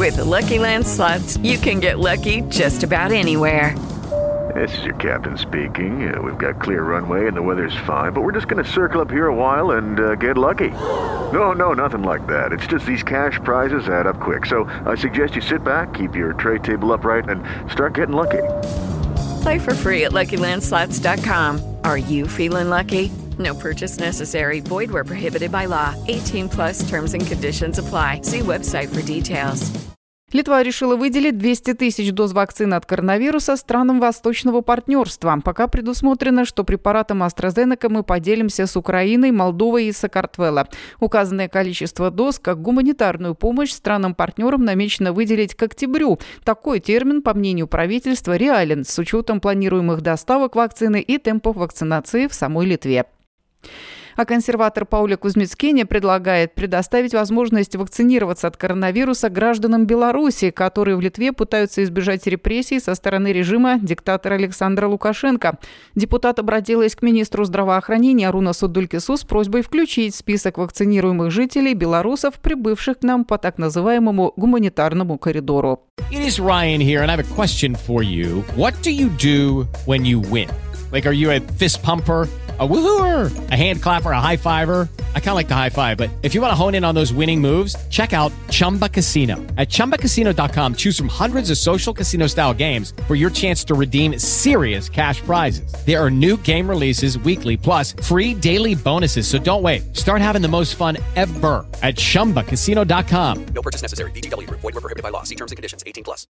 With the Lucky Land Slots, you can get lucky just about anywhere. This is your captain speaking. We've got clear runway and the weather's fine, but we're just going to circle up here a while and get lucky. No, nothing like that. It's just these cash prizes add up quick. So I suggest you sit back, keep your tray table upright, and start getting lucky. Play for free at LuckyLandSlots.com. Are you feeling lucky? No purchase necessary. Void where prohibited by law. 18+ terms and conditions apply. See website for details. Литва решила выделить 200 тысяч доз вакцины от коронавируса странам Восточного партнерства. Пока предусмотрено, что препаратом AstraZeneca мы поделимся с Украиной, Молдовой и Саакартвело. Указанное количество доз как гуманитарную помощь странам-партнерам намечено выделить к октябрю. Такой термин, по мнению правительства, реален с учетом планируемых доставок вакцины и темпов вакцинации в самой Литве. А консерватор Пауля Кузмицкене предлагает предоставить возможность вакцинироваться от коронавируса гражданам Беларуси, которые в Литве пытаются избежать репрессий со стороны режима диктатора Александра Лукашенко. Депутат обратилась к министру здравоохранения Арунасу Дулькису с просьбой включить в список вакцинируемых жителей белорусов, прибывших к нам по так называемому гуманитарному коридору. It is Ryan here, and I have a question for you. What do you do when you win? Like, are you a fist pumper, a woohooer, a hand clapper, a high fiver? I kind of like the high five, but if you want to hone in on those winning moves, check out Chumba Casino. At ChumbaCasino.com, choose from hundreds of social casino-style games for your chance to redeem serious cash prizes. There are new game releases weekly, plus free daily bonuses, so don't wait. Start having the most fun ever at ChumbaCasino.com. No purchase necessary. VGW Group. Void where prohibited by law. See terms and conditions. 18+.